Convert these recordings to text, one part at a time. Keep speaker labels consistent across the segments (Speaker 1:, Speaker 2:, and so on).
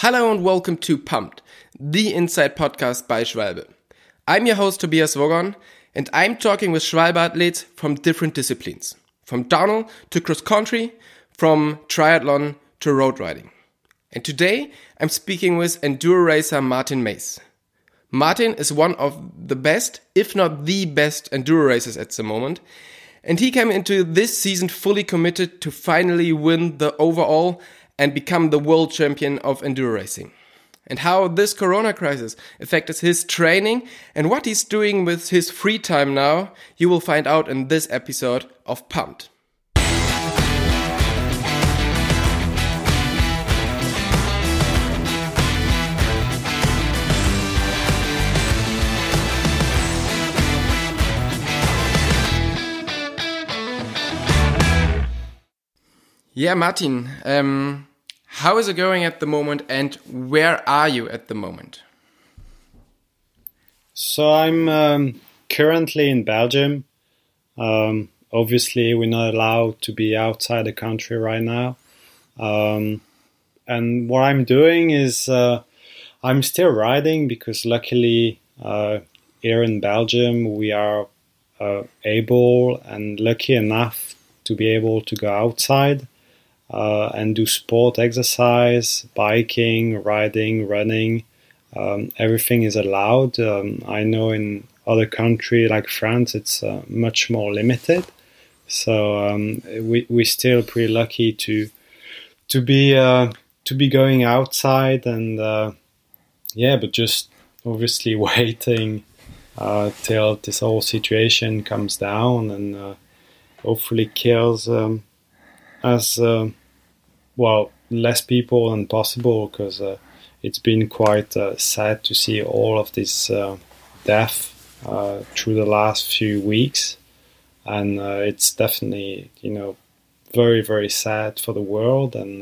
Speaker 1: Hello and welcome to Pumped, the Inside Podcast by Schwalbe. I'm your host Tobias Wogon, and I'm talking with Schwalbe athletes from different disciplines, from downhill to cross-country, from triathlon to road riding. And today I'm speaking with enduro racer Martin Mees. Martin is one of the best, if not the best, enduro racers at the moment, and he came into this season fully committed to finally win the overall and become the world champion of enduro racing. And how this corona crisis affected his training and what he's doing with his free time now, you will find out in this episode of Pumped. Yeah, Martin, how is it going at the moment and where are you at the moment?
Speaker 2: So I'm currently in Belgium. Obviously, we're not allowed to be outside the country right now. And what I'm doing is I'm still riding because luckily here in Belgium we are able and lucky enough to be able to go outside. And do sport, exercise, biking, riding, running. Everything is allowed. I know in other countries like France, it's much more limited. So we're still pretty lucky to be going outside and but just obviously waiting till this whole situation comes down and hopefully kills. As less people than possible, because it's been quite sad to see all of this death through the last few weeks, and it's definitely very, very sad for the world. And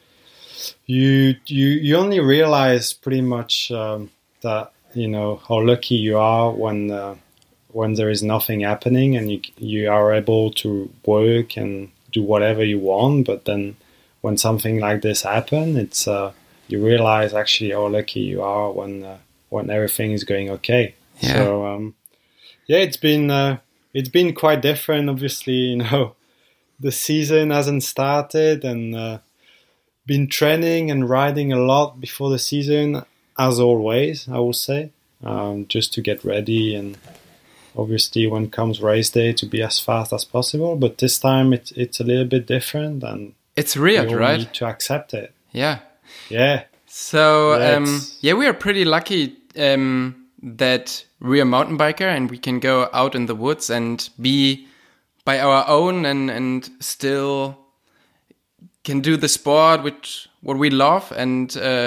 Speaker 2: you only realize pretty much that how lucky you are when there is nothing happening and you are able to work and do whatever you want, but then when something like this happens, it's you realize actually how lucky you are when everything is going okay.
Speaker 1: Yeah.
Speaker 2: So it's been quite different. Obviously, the season hasn't started, and been training and riding a lot before the season, as always. I would say, just to get ready and. Obviously, when comes race day, to be as fast as possible. But this time, it's a little bit different, and
Speaker 1: it's weird,
Speaker 2: we all
Speaker 1: right?
Speaker 2: need to accept it.
Speaker 1: Yeah.
Speaker 2: So
Speaker 1: we are pretty lucky that we're a mountain biker and we can go out in the woods and be by our own and still can do the sport what we love and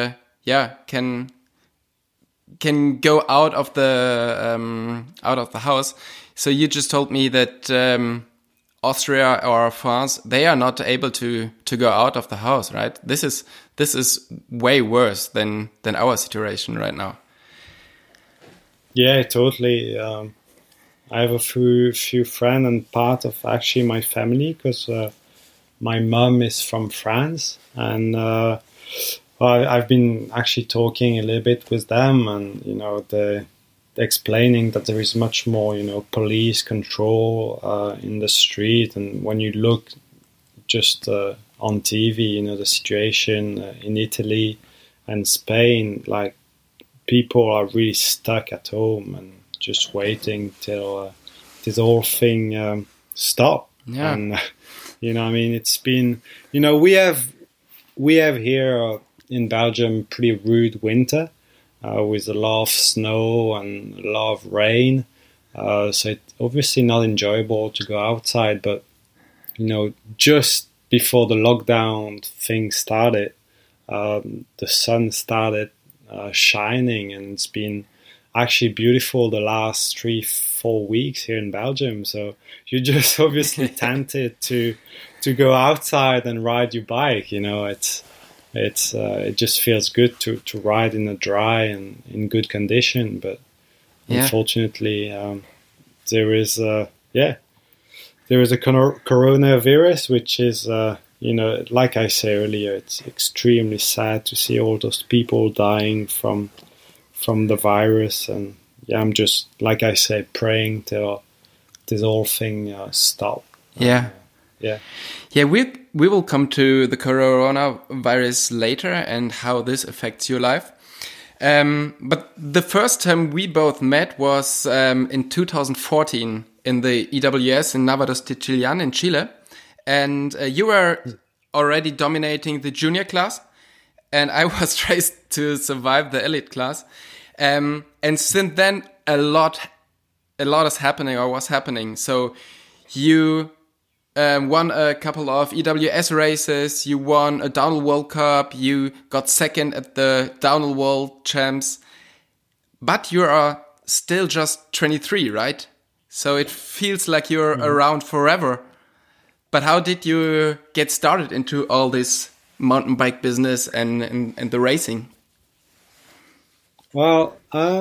Speaker 1: can go out of the house. So you just told me that Austria or France, they are not able to go out of the house, right? This is way worse than our situation right now.
Speaker 2: Yeah, totally. I have a few friends and part of actually my family because my mom is from France and. I've been actually talking a little bit with them, and they're explaining that there is much more, police control in the street, and when you look just on TV, the situation in Italy and Spain, like people are really stuck at home and just waiting till this whole thing stop.
Speaker 1: Yeah.
Speaker 2: And it's been, we have here. In Belgium, pretty rude winter with a lot of snow and a lot of rain. So it's obviously not enjoyable to go outside. But, just before the lockdown thing started, the sun started shining and it's been actually beautiful the last 3-4 weeks here in Belgium. So you're just obviously tempted to go outside and ride your bike. It just feels good to ride in a dry and in good condition, but unfortunately there is a coronavirus which is like I said earlier, it's extremely sad to see all those people dying from the virus. And yeah, I'm just, like I said, praying till this whole thing stop.
Speaker 1: Yeah.
Speaker 2: Yeah.
Speaker 1: We will come to the coronavirus later and how this affects your life. But the first time we both met was in 2014 in the EWS in Nevados de Chillán in Chile. And you were already dominating the junior class. And I was raised to survive the elite class. And since then, a lot is happening or was happening. So you won a couple of EWS races, you won a Downhill World Cup, you got second at the Downhill World Champs, but you are still just 23, right? So it feels like you're around forever. But how did you get started into all this mountain bike business and the racing?
Speaker 2: Well,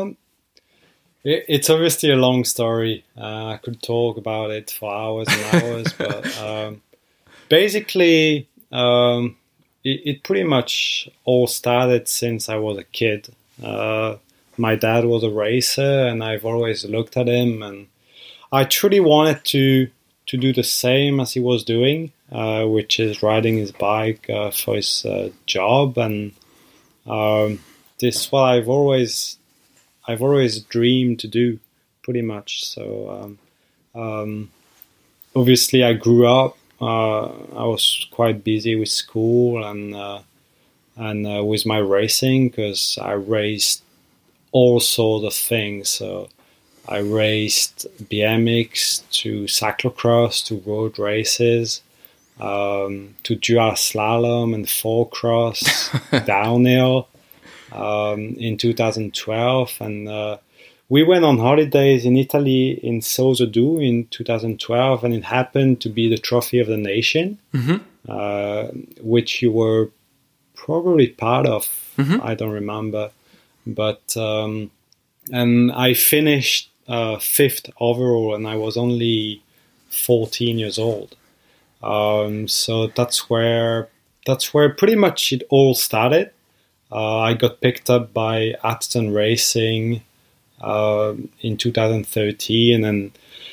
Speaker 2: it's obviously a long story. I could talk about it for hours and hours, but basically, it pretty much all started since I was a kid. My dad was a racer, and I've always looked at him, and I truly wanted to do the same as he was doing, which is riding his bike for his job, and this is what I've always dreamed to do, pretty much. So obviously I grew up. I was quite busy with school and with my racing, because I raced all sorts of things. So I raced BMX to cyclocross to road races, to dual slalom and four cross, downhill. In 2012, and we went on holidays in Italy in Sozodù in 2012, and it happened to be the Trophy of the Nation, which you were probably part of. I don't remember, but and I finished fifth overall, and I was only 14 years old. So that's where pretty much it all started. I got picked up by Atherton Racing in 2013, and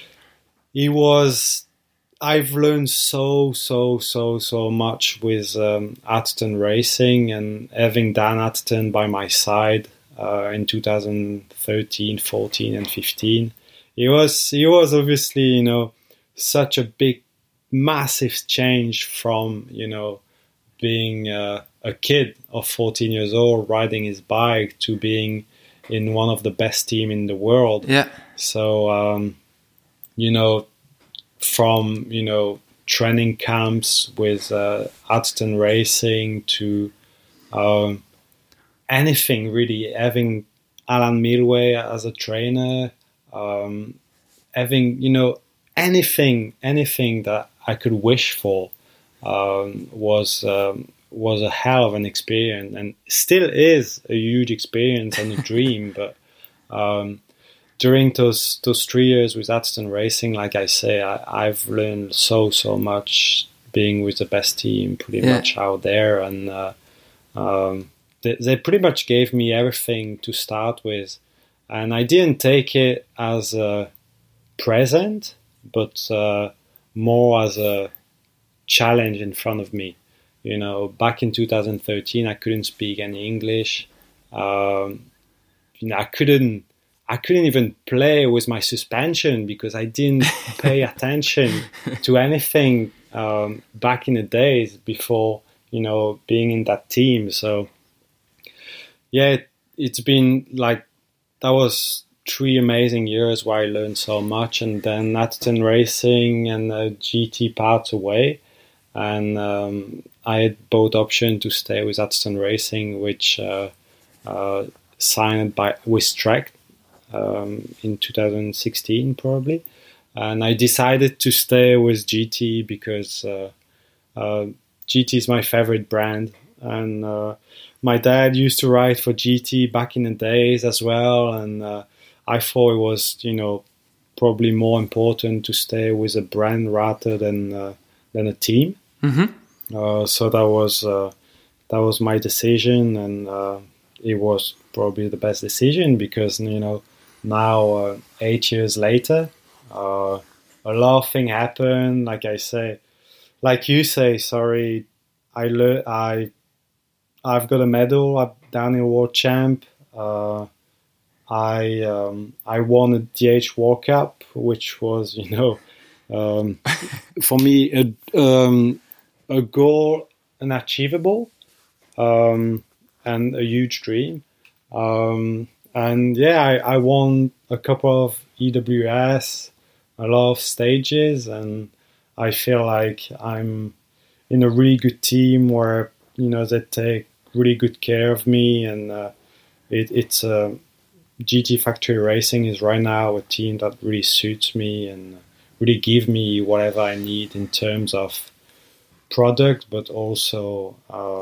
Speaker 2: I've learned so much with Atherton Racing, and having Dan Atherton by my side in 2013, 14, and 15. He was obviously, such a big, massive change from, being a kid of 14 years old riding his bike to being in one of the best team in the world.
Speaker 1: Yeah.
Speaker 2: So, from, training camps with Atherton Racing to anything really, having Alan Milway as a trainer, having, anything that I could wish for was a hell of an experience, and still is a huge experience and a dream. But during those 3 years with Atherton Racing, like I say, I've learned so much, being with the best team pretty much out there, and they pretty much gave me everything to start with, and I didn't take it as a present, but more as a challenge in front of me. Back in 2013, I couldn't speak any English. I couldn't even play with my suspension because I didn't pay attention to anything back in the days before, being in that team. So, yeah, it's been like, that was 3 amazing years where I learned so much, and then Atherton Racing and GT parts away. And I had both options to stay with Atherton Racing, which signed with Trek in 2016 probably, and I decided to stay with GT because GT is my favorite brand, and my dad used to ride for GT back in the days as well, and I thought it was probably more important to stay with a brand rather than a team. So that was my decision, and it was probably the best decision because now 8 years later, a lot of things happen. Like you say, sorry, I've got a medal at Downhill World Champ. I won a DH World Cup, which was for me a goal, an achievable, and a huge dream. And yeah, I won a couple of EWS, a lot of stages, and I feel like I'm in a really good team where they take really good care of me, and it's GT Factory Racing is right now a team that really suits me and really give me whatever I need in terms of product, but also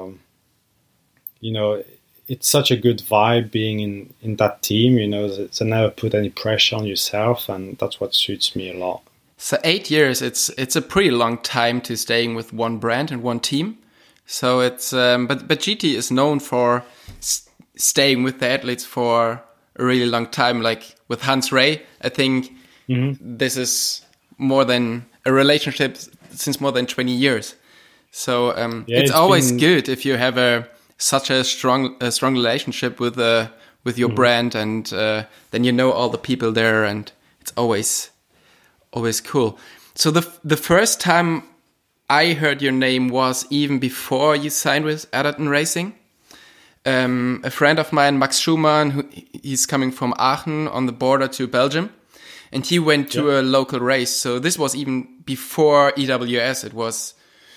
Speaker 2: it's such a good vibe being in that team. They never put any pressure on yourself, and that's what suits me a lot.
Speaker 1: So 8 years, it's a pretty long time to staying with one brand and one team. So it's but GT is known for staying with the athletes for a really long time. Like with Hans Rey, I think this is more than a relationship since more than 20 years. So it's always good if you have such a strong relationship with your brand, and then all the people there, and it's always cool. So the first time I heard your name was even before you signed with Atherton Racing. A friend of mine, Max Schumann, he's coming from Aachen on the border to Belgium, and he went to a local race. So this was even before EWS. It was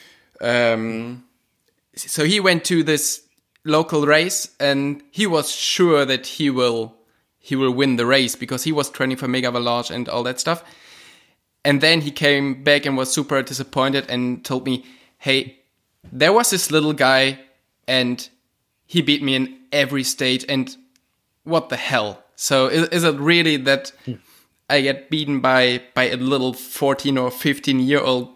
Speaker 1: so he went to this local race, and he was sure that he will win the race because he was training for Mega Avalanche and all that stuff. And then he came back and was super disappointed and told me, hey, there was this little guy and he beat me in every stage, and what the hell? So is it really that I get beaten by a little 14 or 15-year-old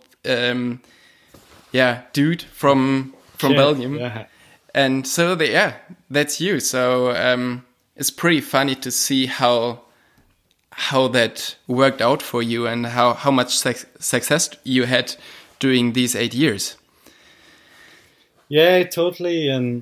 Speaker 1: dude from Belgium? Yeah. And so that's you. So it's pretty funny to see how that worked out for you and how much success you had during these 8 years.
Speaker 2: Yeah, totally. And,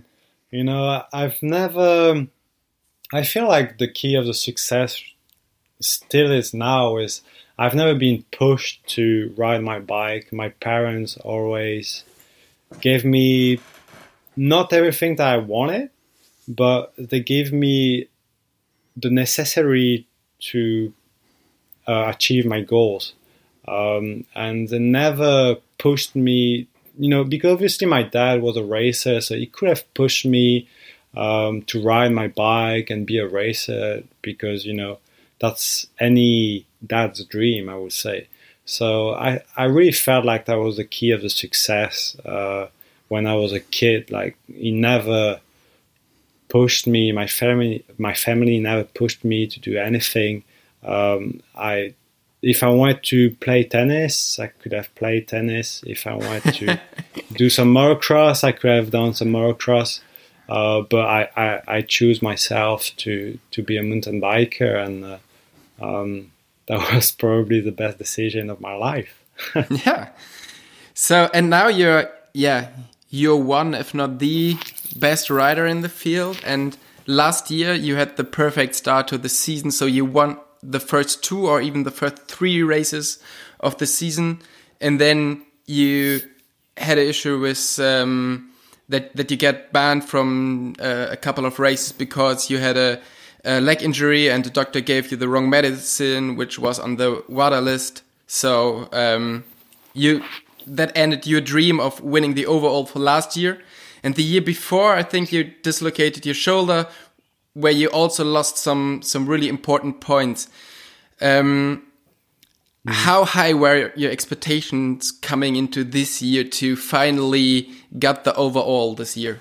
Speaker 2: I feel like the key of the success still is now is I've never been pushed to ride my bike. My parents always gave me not everything that I wanted, but they gave me the necessary to achieve my goals. And they never pushed me, because obviously my dad was a racer, so he could have pushed me to ride my bike and be a racer because, that's any dad's dream, I would say. So I really felt like that was the key of the success when I was a kid. Like, he never pushed me. My family never pushed me to do anything. If I wanted to play tennis, I could have played tennis. If I wanted to do some motocross, I could have done some motocross. But I choose myself to be a mountain biker, and that was probably the best decision of my life.
Speaker 1: Yeah. So, and now you're one, if not the best rider in the field. And last year you had the perfect start to the season. So you won the first 2 or even the first 3 races of the season. And then you had an issue with that you get banned from a couple of races because you had a leg injury and the doctor gave you the wrong medicine, which was on the WADA list. So that ended your dream of winning the overall for last year. And the year before, I think you dislocated your shoulder, where you also lost some really important points. How high were your expectations coming into this year to finally get the overall this year?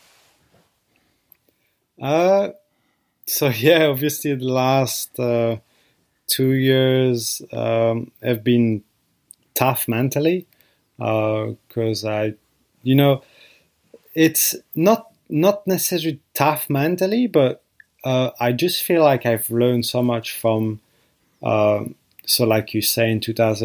Speaker 2: So yeah, obviously the last 2 years have been tough mentally because I it's not necessarily tough mentally, but I just feel like I've learned so much from. So, like you say, in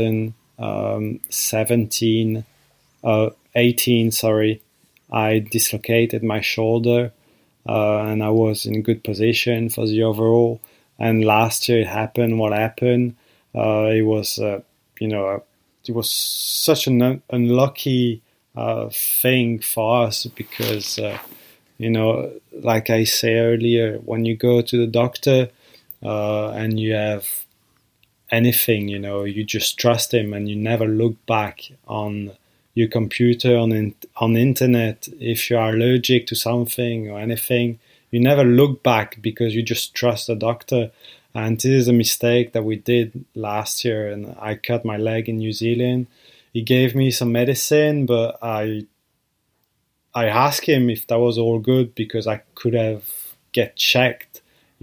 Speaker 2: 2017, 18, sorry, I dislocated my shoulder, and I was in good position for the overall. And last year it happened. What happened? It was, it was such an unlucky thing for us because, like I say earlier, when you go to the doctor and you have anything, you just trust him and you never look back on your computer, on internet. If you are allergic to something or anything, you never look back because you just trust the doctor. And this is a mistake that we did last year. And I cut my leg in New Zealand. He gave me some medicine, but I asked him if that was all good because I could have get checked,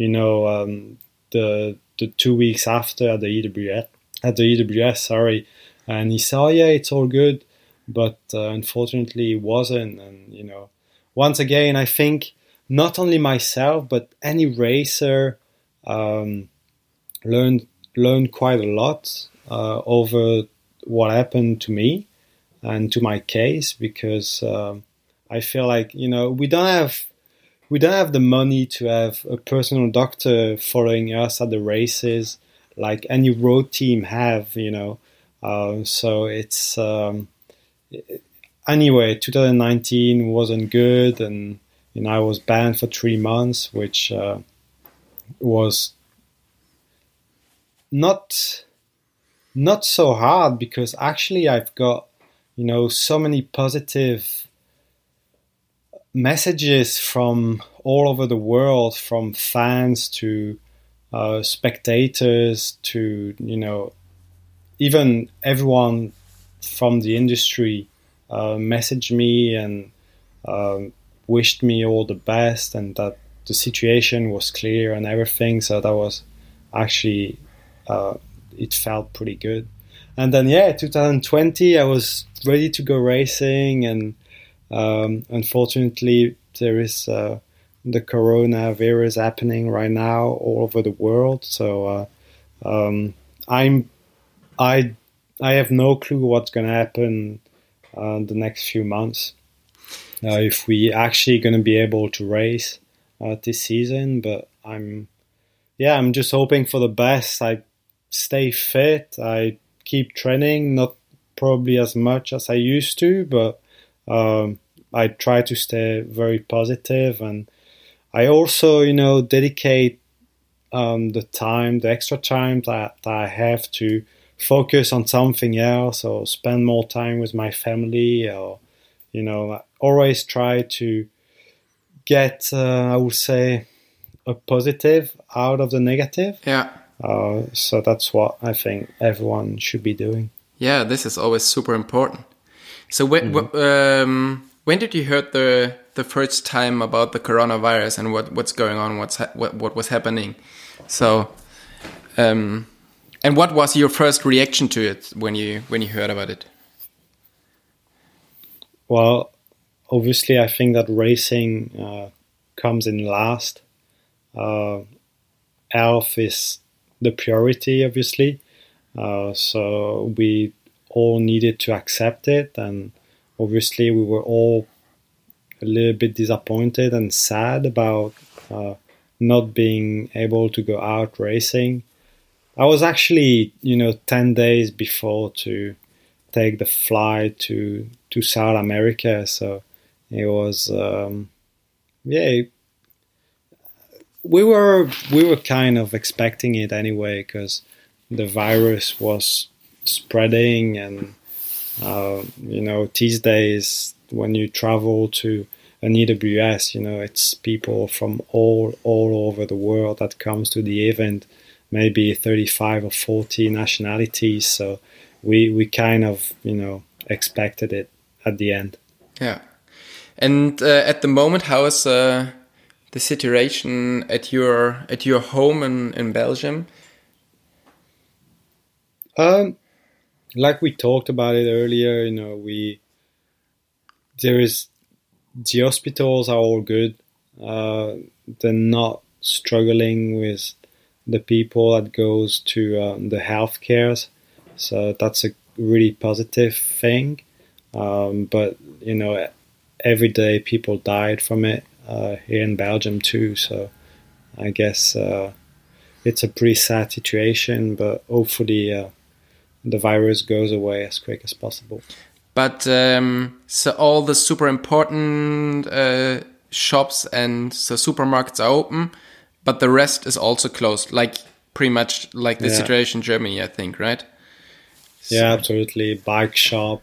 Speaker 2: the 2 weeks after at the EWS, sorry. And he said, oh yeah, it's all good. But unfortunately it wasn't. And, once again, I think not only myself, but any racer learned quite a lot over what happened to me and to my case, because I feel like, we don't have the money to have a personal doctor following us at the races like any road team have, so it's anyway, 2019 wasn't good, and I was banned for 3 months, which was not so hard because actually I've got so many positive messages from all over the world, from fans to spectators to even everyone from the industry messaged me and wished me all the best, and that the situation was clear and everything. So that was actually it felt pretty good. And then 2020 I was ready to go racing, and unfortunately there is the coronavirus happening right now all over the world. So I have no clue what's going to happen the next few months. If we actually going to be able to race this season, but I'm just hoping for the best. I stay fit. I keep training, not probably as much as I used to, but I try to stay very positive, and I also, dedicate the extra time that I have to focus on something else or spend more time with my family, or, I always try to get, I would say, a positive out of the negative.
Speaker 1: Yeah.
Speaker 2: So that's what I think everyone should be doing.
Speaker 1: Yeah, this is always super important. So when did you heard the first time about the coronavirus and what's going on, what was happening? So, and what was your first reaction to it when you heard about it?
Speaker 2: Well, obviously, I think that racing comes in last. Health is the priority, obviously. So we all needed to accept it, and obviously we were all a little bit disappointed and sad about not being able to go out racing. I was actually, 10 days before to take the flight to South America, so it was, we were kind of expecting it anyway, because the virus was spreading, and these days when you travel to an EWS, it's people from all over the world that comes to the event, maybe 35 or 40 nationalities. So we kind of expected it at the end.
Speaker 1: Yeah, and at the moment, how is the situation at your home in Belgium?
Speaker 2: Like we talked about it earlier, there is the hospitals are all good. They're not struggling with the people that goes to the healthcare, so that's a really positive thing. But every day people died from it here in Belgium too. So I guess it's a pretty sad situation. But hopefully the virus goes away as quick as possible.
Speaker 1: But so all the super important shops and the supermarkets are open, but the rest is also closed, like pretty much like the situation in Germany, I think, right?
Speaker 2: Yeah, absolutely. Bike shop,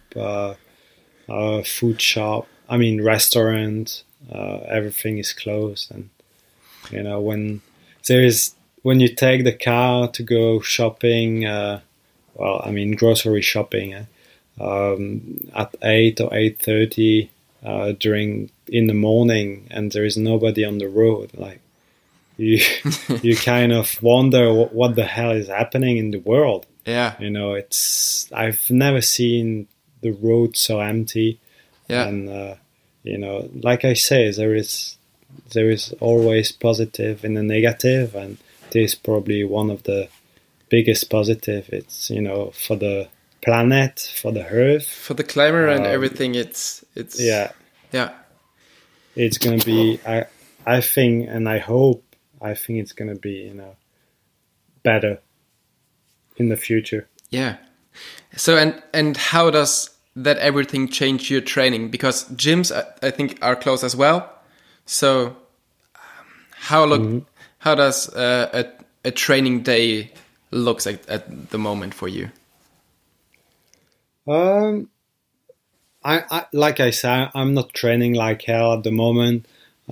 Speaker 2: food shop, restaurant, everything is closed. And, when you take the car to go shopping, grocery shopping, at 8 or 8:30 in the morning, and there is nobody on the road, like you kind of wonder what the hell is happening in the world.
Speaker 1: Yeah.
Speaker 2: I've never seen the road so empty.
Speaker 1: Yeah.
Speaker 2: And like I say, there is always positive and a negative, and this is probably one of the biggest positive. It's for the planet, for the earth,
Speaker 1: for the climate and everything. It's
Speaker 2: yeah. It's gonna be. I think, and I hope. I think it's gonna be better in the future.
Speaker 1: Yeah. So and how does that everything change your training? Because gyms I think are closed as well. So how does a training day looks at the moment for you?
Speaker 2: I like I said, I'm not training like hell at the moment.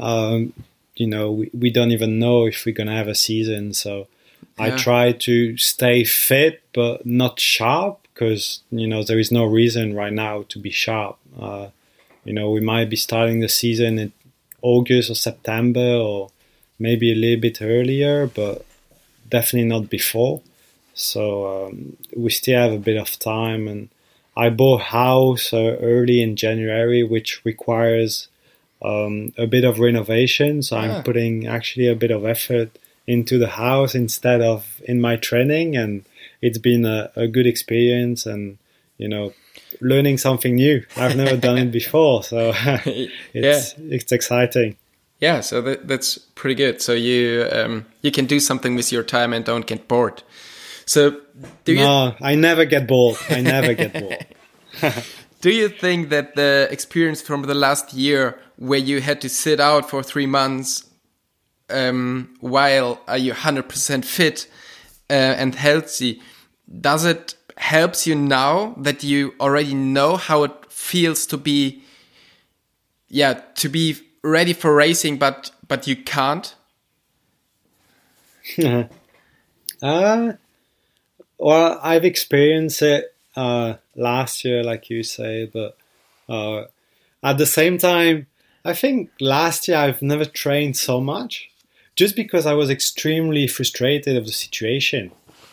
Speaker 2: We don't even know if we're gonna have a season, so I try to stay fit but not sharp, because there is no reason right now to be sharp. We might be starting the season in August or September, or maybe a little bit earlier, but definitely not before. So we still have a bit of time, and I bought a house early in January, which requires a bit of renovation. So I'm putting actually a bit of effort into the house instead of in my training, and it's been a good experience, and learning something new. I've never done it before, so it's exciting.
Speaker 1: Yeah, so that's pretty good. So you can do something with your time and don't get bored. So
Speaker 2: I never get bored. I never get bored.
Speaker 1: Do you think that the experience from the last year, where you had to sit out for 3 months while are you 100% fit and healthy, does it helps you now that you already know how it feels to be ready for racing, but you can't?
Speaker 2: Well, I've experienced it last year, like you say, but at the same time, I think last year I've never trained so much, just because I was extremely frustrated of the situation.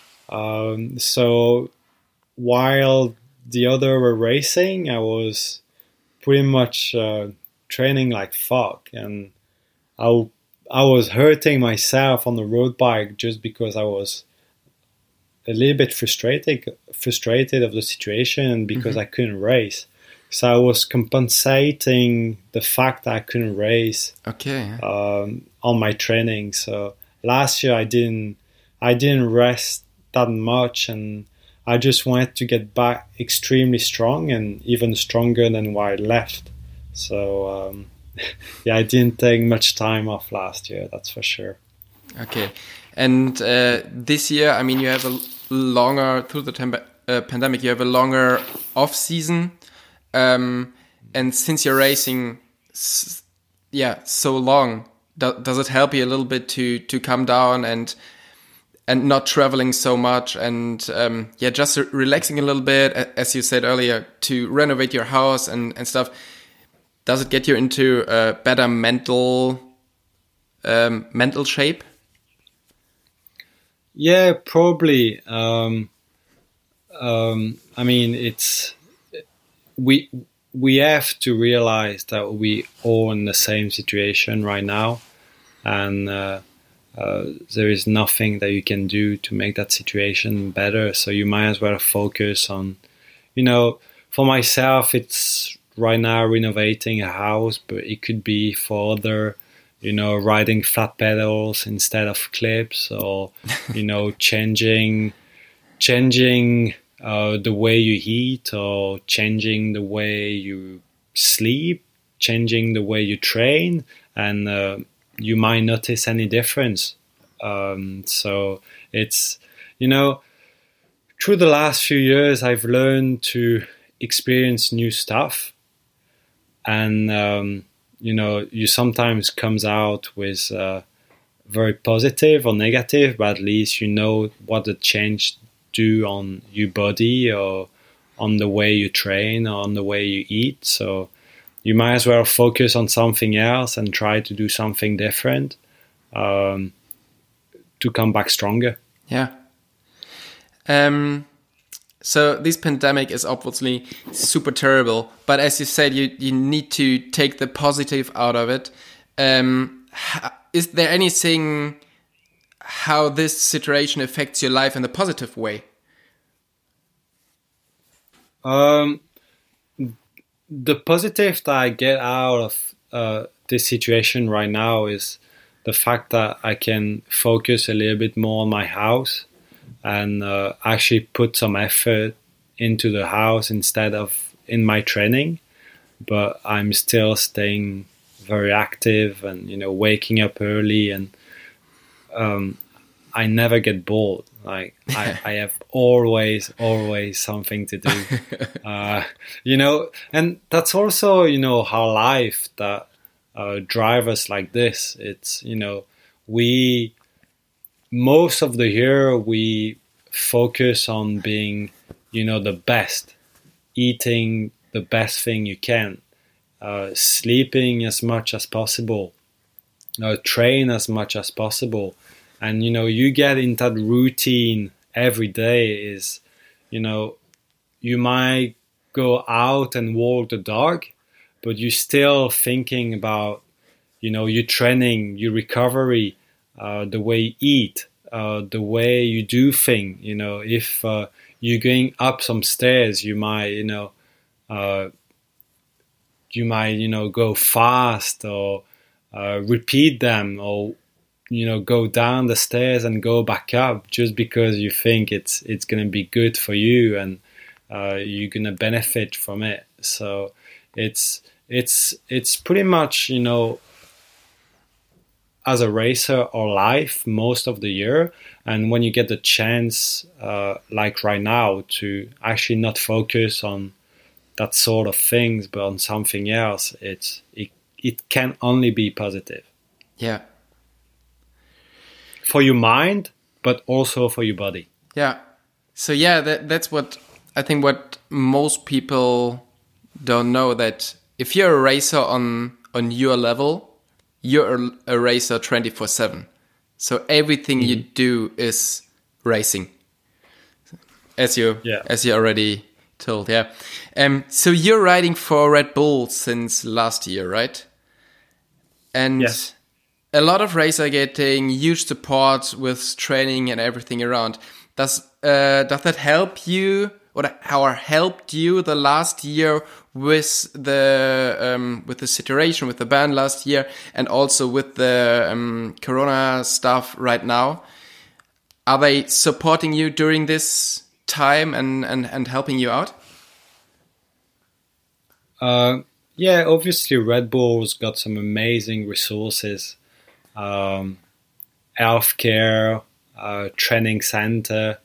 Speaker 2: So while the other were racing, I was pretty much training like fuck, and I was hurting myself on the road bike just because I was a little bit frustrated of the situation, and because I couldn't race. So I was compensating the fact that I couldn't race on my training. So last year I didn't rest that much, and I just wanted to get back extremely strong and even stronger than where I left. So I didn't take much time off last year, that's for sure.
Speaker 1: Okay. And this year, I mean, you have a longer, through the pandemic, you have a longer off season. And since you're racing, so long, does it help you a little bit to come down and not traveling so much, and just relaxing a little bit, as you said earlier, to renovate your house and stuff? Does it get you into a better mental shape?
Speaker 2: Yeah, probably. I mean, we we have to realize that we all in the same situation right now, and there is nothing that you can do to make that situation better. So you might as well focus on, for myself, it's right now renovating a house, but it could be for other, riding flat pedals instead of clips, or, changing the way you eat, or changing the way you sleep, changing the way you train, and you might notice any difference. So it's, through the last few years, I've learned to experience new stuff, and you sometimes comes out with very positive or negative, but at least you know what the change do on your body, or on the way you train, or on the way you eat. So you might as well focus on something else and try to do something different to come back stronger.
Speaker 1: Yeah. So this pandemic is obviously super terrible, but as you said, you need to take the positive out of it. Is there anything how this situation affects your life in a positive way?
Speaker 2: The positive that I get out of this situation right now is the fact that I can focus a little bit more on my house, and actually put some effort into the house instead of in my training. But I'm still staying very active, and waking up early, and I never get bored. Like I have always something to do, and that's also how life that drive us like this. It's we most of the year we focus on being the best, eating the best thing you can, sleeping as much as possible, train as much as possible. And you get in that routine every day. Is you might go out and walk the dog, but you're still thinking about your training, your recovery, the way you eat, the way you do things. If you're going up some stairs, you might go fast, or repeat them, or go down the stairs and go back up, just because you think it's going to be good for you, and you're going to benefit from it. So it's pretty much as a racer or life most of the year. And when you get the chance, like right now, to actually not focus on that sort of things, but on something else, it can only be positive.
Speaker 1: Yeah.
Speaker 2: For your mind, but also for your body.
Speaker 1: Yeah. So yeah, that's what I think what most people don't know, that if you're a racer on your level, you're a racer 24/7. So everything you do is racing, as you already told. Yeah. So you're riding for Red Bull since last year, right? And
Speaker 2: yes.
Speaker 1: A lot of racers are getting huge support with training and everything around. Does that help you, or how helped you the last year with the situation with the ban last year, and also with the Corona stuff right now? Are they supporting you during this time and helping you out?
Speaker 2: Yeah, obviously Red Bull's got some amazing resources. Healthcare, training center,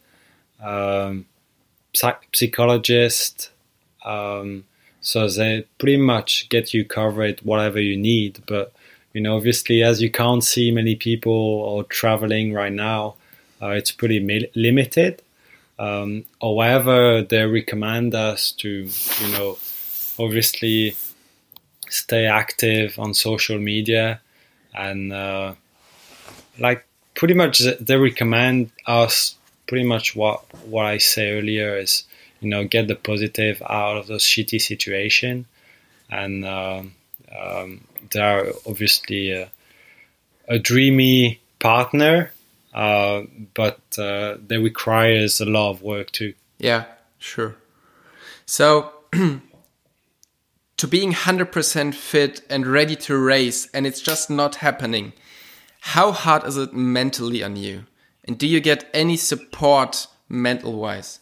Speaker 2: psychologist. So they pretty much get you covered whatever you need. But, obviously, as you can't see many people or traveling right now, it's pretty limited. However, they recommend us to, obviously stay active on social media, and pretty much they recommend us pretty much what I say earlier is, get the positive out of those shitty situation. and they're obviously a dreamy partner, but they requires a lot of work too.
Speaker 1: Yeah, sure. So to being 100% fit and ready to race, and it's just not happening, how hard is it mentally on you? And do you get any support mental-wise?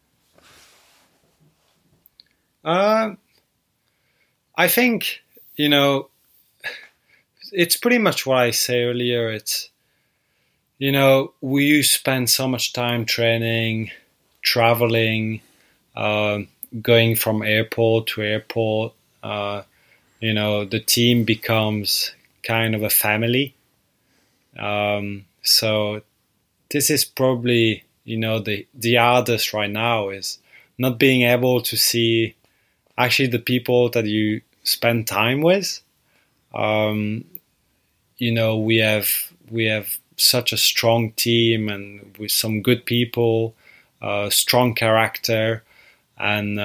Speaker 2: I think, it's pretty much what I said earlier. It's, we spend so much time training, traveling, going from airport to airport. The team becomes kind of a family. So this is probably, the hardest right now is not being able to see actually the people that you spend time with. We have such a strong team and with some good people, strong character, and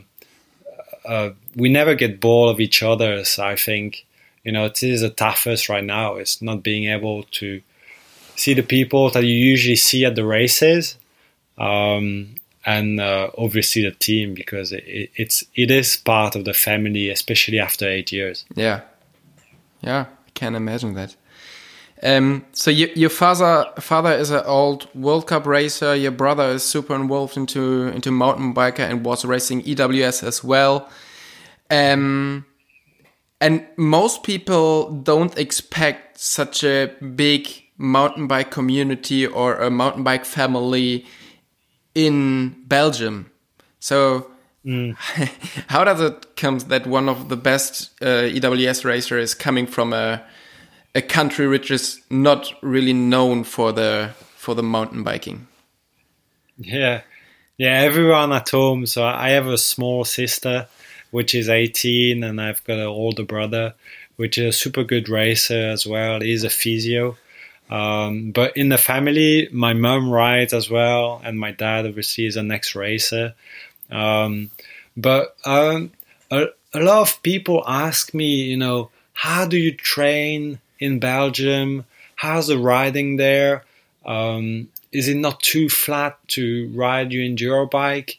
Speaker 2: we never get bored of each other. So I think, it is the toughest right now. It's not being able to see the people that you usually see at the races, and obviously the team, because it is part of the family, especially after 8 years.
Speaker 1: Yeah, I can imagine that. So your father is an old World Cup racer. Your brother is super involved into mountain biker and was racing EWS as well. And most people don't expect such a big mountain bike community or a mountain bike family in Belgium. So how does it come that one of the best EWS racers is coming from a country which is not really known for the mountain biking?
Speaker 2: Yeah, everyone at home. So I have a small sister, which is 18, and I've got an older brother, which is a super good racer as well. He's a physio. But in the family, my mom rides as well, and my dad obviously is an ex-racer. But a lot of people ask me, how do you train in Belgium? How's the riding there? Is it not too flat to ride your enduro bike?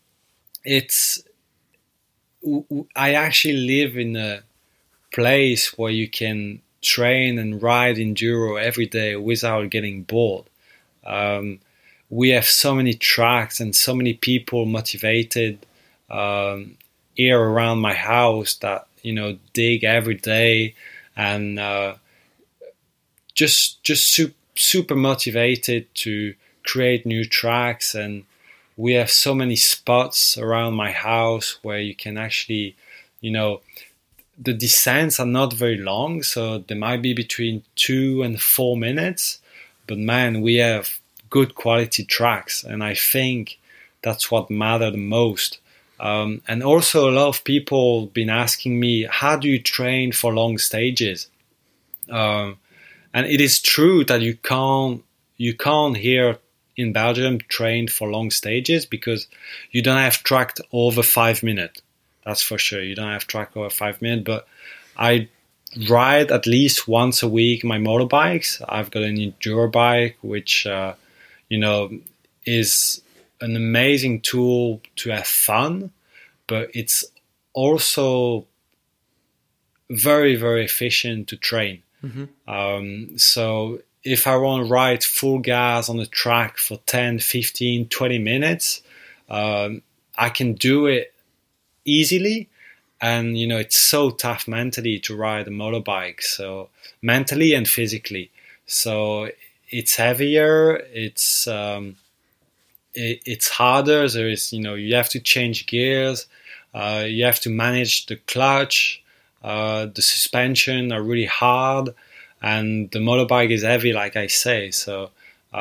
Speaker 2: I actually live in a place where you can train and ride enduro every day without getting bored. We have so many tracks and so many people motivated here around my house that dig every day and just super motivated to create new tracks. And we have so many spots around my house where you can actually, the descents are not very long, so they might be between 2 and 4 minutes. But man, we have good quality tracks, and I think that's what matters the most. And also a lot of people been asking me, how do you train for long stages? And it is true that you can't here in Belgium train for long stages because you don't have track over 5 minutes. That's for sure. You don't have track over 5 minutes, but I ride at least once a week my motorbikes. I've got an enduro bike, which, is an amazing tool to have fun, but it's also very, very efficient to train. Mm-hmm. So if I want to ride full gas on the track for 10, 15, 20 minutes, I can do it easily. And, it's so tough mentally to ride a motorbike, so mentally and physically. So it's heavier, it's harder. There is, you have to change gears, you have to manage the clutch, the suspension are really hard, and the motorbike is heavy, like I say. So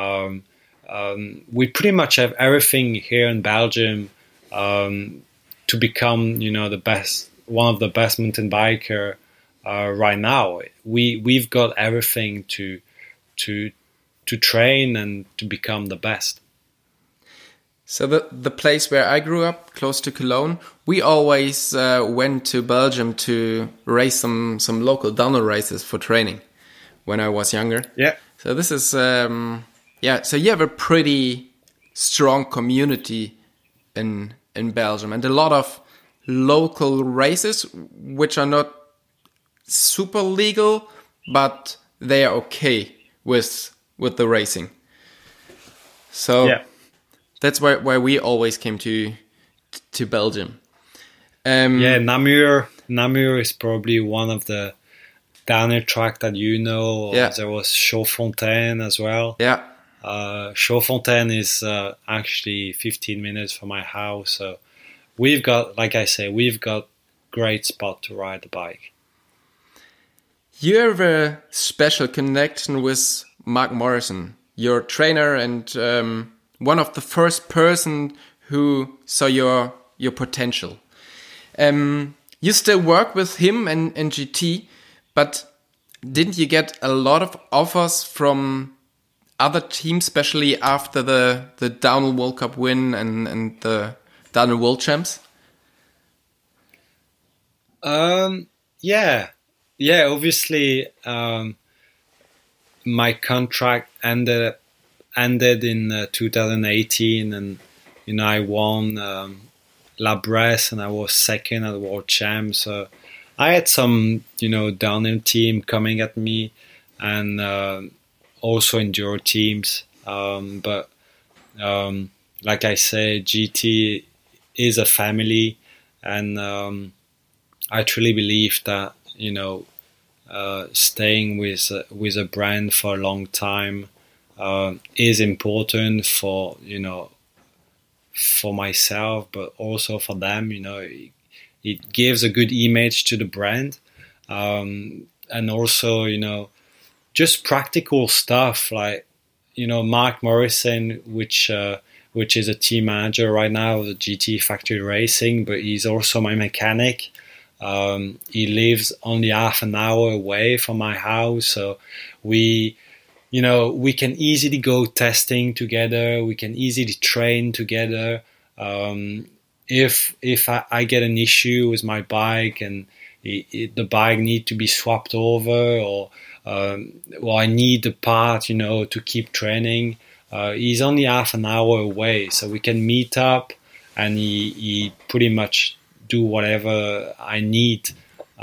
Speaker 2: we pretty much have everything here in Belgium to become, one of the best mountain biker right now. We've got everything to train and to become the best.
Speaker 1: So the place where I grew up, close to Cologne, we always went to Belgium to race some local downhill races for training when I was younger.
Speaker 2: Yeah.
Speaker 1: So this is, so you have a pretty strong community in Belgium and a lot of local races, which are not super legal, but they are okay with the racing. So
Speaker 2: Yeah.
Speaker 1: that's why we always came to Belgium.
Speaker 2: Namur is probably one of the downhill track that you know.
Speaker 1: Yeah.
Speaker 2: There was Chaudfontaine as well.
Speaker 1: Yeah.
Speaker 2: Chaudfontaine is actually 15 minutes from my house. So we've got great spot to ride the bike.
Speaker 1: You have a special connection with Mark Morrison, your trainer and one of the first person who saw your potential. You still work with him and GT, but didn't you get a lot of offers from other teams, especially after the Downhill World Cup win and the Downhill World Champs?
Speaker 2: Yeah. Obviously, my contract ended in 2018, and I won La Bresse, and I was second at the World Champs. So I had some downhill team coming at me, and also enduro teams. But like I say, GT is a family, and I truly believe that staying with a brand for a long time is important for myself, but also for them. It gives a good image to the brand, and also just practical stuff like Mark Morrison, which is a team manager right now of the GT Factory Racing, but he's also my mechanic. He lives only half an hour away from my house, so we can easily go testing together. We can easily train together. If I get an issue with my bike and the bike need to be swapped over, or I need the part, to keep training, he's only half an hour away, so we can meet up, and he pretty much do whatever I need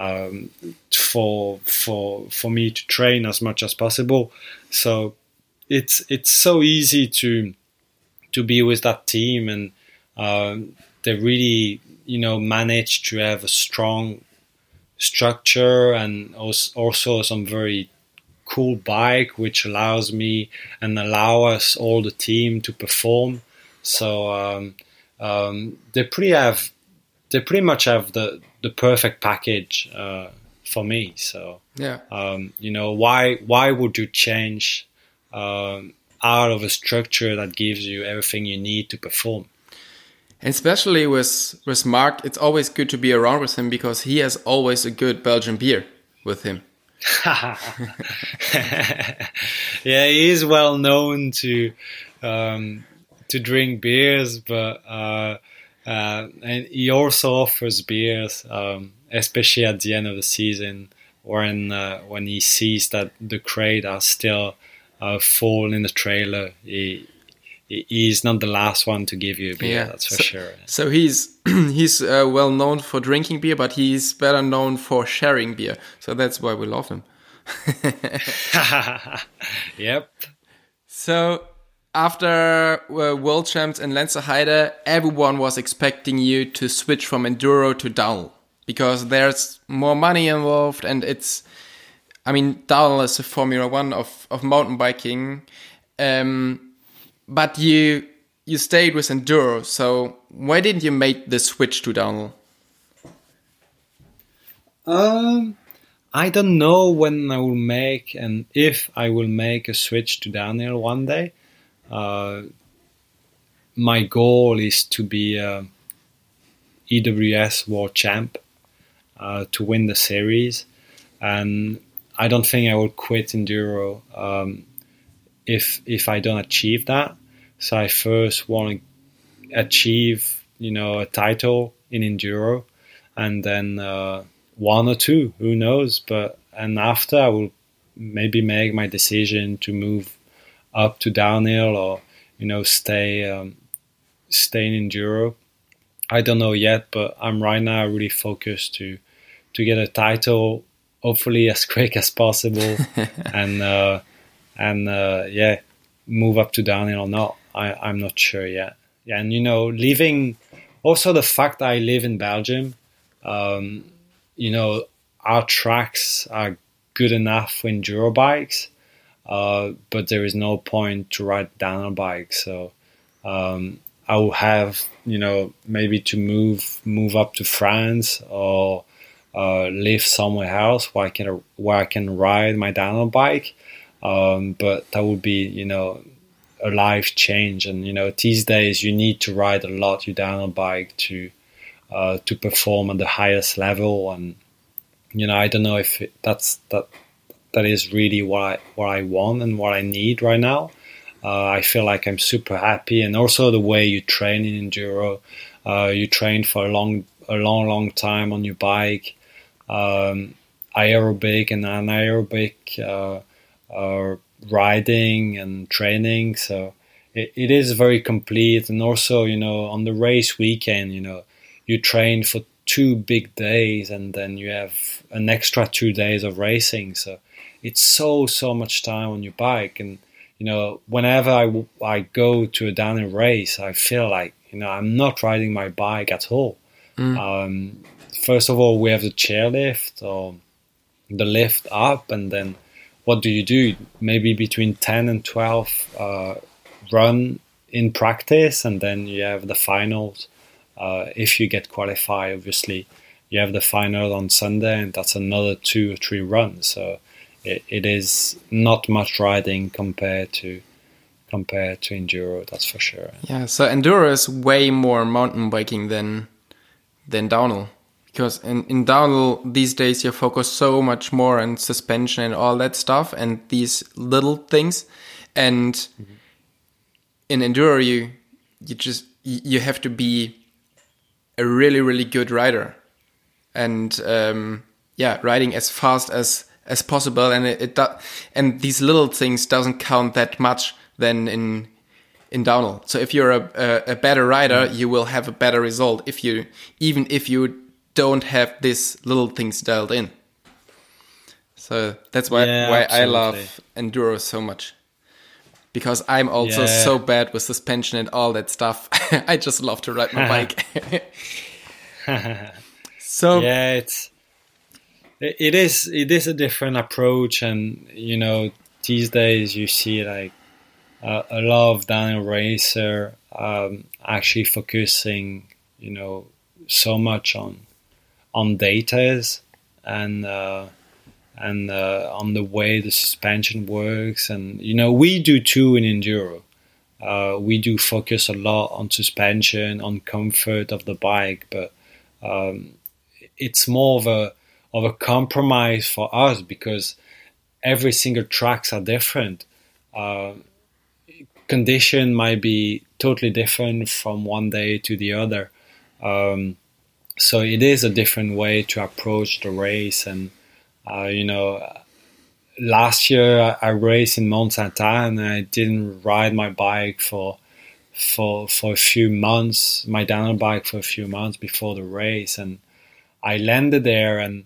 Speaker 2: for me to train as much as possible. So it's so easy to be with that team, and they really manage to have a strong structure and also some very cool bike, which allows me and allow us all the team to perform. So they pretty much have the perfect package for me. So
Speaker 1: yeah,
Speaker 2: why would you change out of a structure that gives you everything you need to perform?
Speaker 1: And especially with Mark, it's always good to be around with him because he has always a good Belgian beer with him.
Speaker 2: Yeah, he is well known to drink beers, but and he also offers beers, especially at the end of the season when he sees that the crate are still full in the trailer. He's not the last one to give you a beer, that's for sure.
Speaker 1: So he's well known for drinking beer, but he's better known for sharing beer. So that's why we love him.
Speaker 2: Yep.
Speaker 1: So after World Champs in Lenzerheide, everyone was expecting you to switch from enduro to downhill because there's more money involved, and downhill is the Formula One of mountain biking. But you stayed with enduro, so why didn't you make the switch to downhill?
Speaker 2: I don't know when I will make, and if I will make a switch to downhill one day. My goal is to be EWS World Champ, to win the series, and I don't think I will quit enduro if I don't achieve that. So I first want achieve, a title in enduro, and then one or two, who knows? And after I will maybe make my decision to move up to downhill, or stay in enduro. I don't know yet, but I'm right now really focused to get a title, hopefully as quick as possible, and move up to downhill or not. I'm not sure yet. Yeah, and living, also the fact that I live in Belgium, our tracks are good enough for enduro bikes, but there is no point to ride downhill bikes. So I will have, maybe to move up to France, or live somewhere else where I can ride my downhill bike. But that would be, a life change. And, these days you need to ride a lot your downhill bike to perform at the highest level. And, I don't know if that is really what I want and what I need right now. I feel like I'm super happy. And also the way you train in enduro, you train for a long time on your bike, aerobic and anaerobic riding and training. So it is very complete. And also, on the race weekend, you train for 2 big days, and then you have an extra 2 days of racing. So it's so much time on your bike. And whenever I go to a downhill race, I feel like I'm not riding my bike at all. First of all, we have the chairlift or the lift up, and then what do? Maybe between 10 and 12 run in practice, and then you have the finals. If you get qualified, obviously, you have the final on Sunday, and that's another 2 or 3 runs. So it is not much riding compared to enduro, that's for sure.
Speaker 1: Yeah, so enduro is way more mountain biking than downhill. Because in downhill these days you focus so much more on suspension and all that stuff and these little things, and in enduro you have to be a really, really good rider, and riding as fast as possible, and and these little things doesn't count that much than in downhill. So if you're a better rider, you will have a better result even if you don't have these little things dialed in. So that's why I love enduro so much, because I'm also so bad with suspension and all that stuff. I just love to ride my bike. So
Speaker 2: yeah, it is a different approach, and these days you see like a lot of downhill racer actually focusing so much on datas and on the way the suspension works. And we do too in enduro. We do focus a lot on suspension, on comfort of the bike, but it's more of a compromise for us, because every single tracks are different. Condition might be totally different from one day to the other. So it is a different way to approach the race. And last year I raced in Mont Saint-Anne, and I didn't ride my bike for a few months, my downhill bike for a few months before the race. And I landed there, and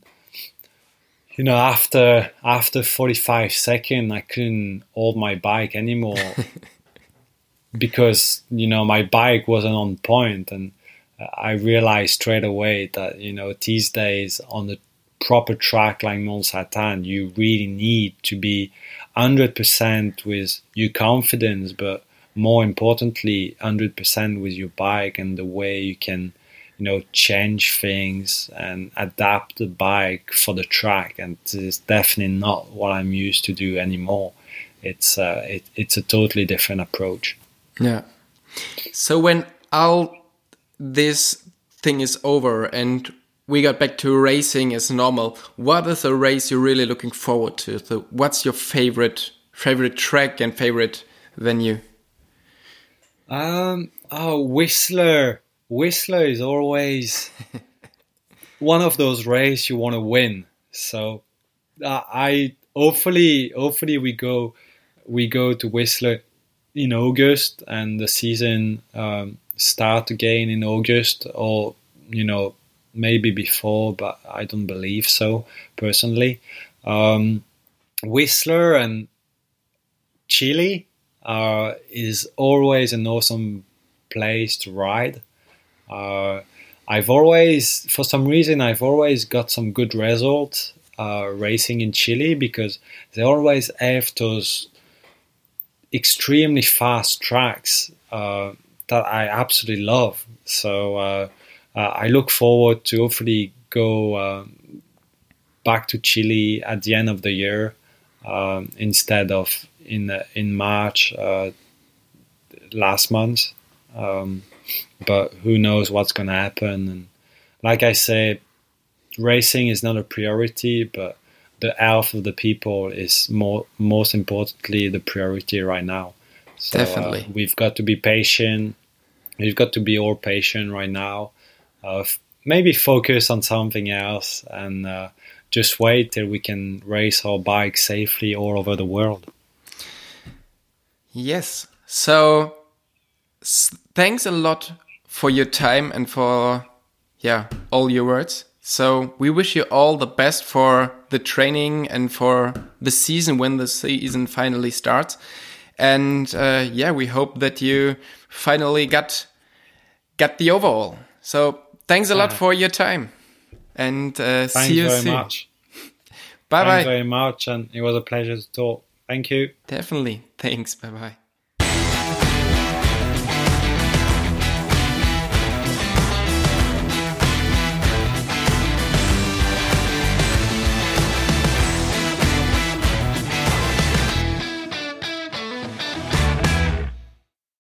Speaker 2: after 45 seconds I couldn't hold my bike anymore because my bike wasn't on point. And I realized straight away that these days on the proper track like Mont Saint-Anne, you really need to be 100% with your confidence, but more importantly 100% with your bike and the way you can change things and adapt the bike for the track. And this is definitely not what I'm used to do anymore. It's a totally different approach.
Speaker 1: Yeah. So when all this thing is over and we got back to racing as normal, what is a race you're really looking forward to? So what's your favorite track and favorite venue?
Speaker 2: Oh, Whistler. Whistler is always one of those races you want to win. So I hopefully we go to Whistler in August, and the season start again in August, or maybe before, but I don't believe so personally. Whistler and Chile is always an awesome place to ride. For some reason, I've always got some good results racing in Chile, because they always have those extremely fast tracks that I absolutely love. So I look forward to hopefully go back to Chile at the end of the year instead of in March last month. But who knows what's going to happen. And like I say, racing is not a priority, but the health of the people is most importantly the priority right now. So,
Speaker 1: Definitely.
Speaker 2: We've got to be patient. We've got to be all patient right now. Maybe focus on something else and just wait till we can race our bikes safely all over the world.
Speaker 1: Yes. So thanks a lot for your time and for all your words. So we wish you all the best for the training and for the season when the season finally starts. And we hope that you finally got the overall. So thanks a lot for your time. And see you soon.
Speaker 2: Thanks very much.
Speaker 1: Bye-bye.
Speaker 2: Thanks very much, and it was a pleasure to talk. Thank you.
Speaker 1: Definitely. Thanks. Bye-bye.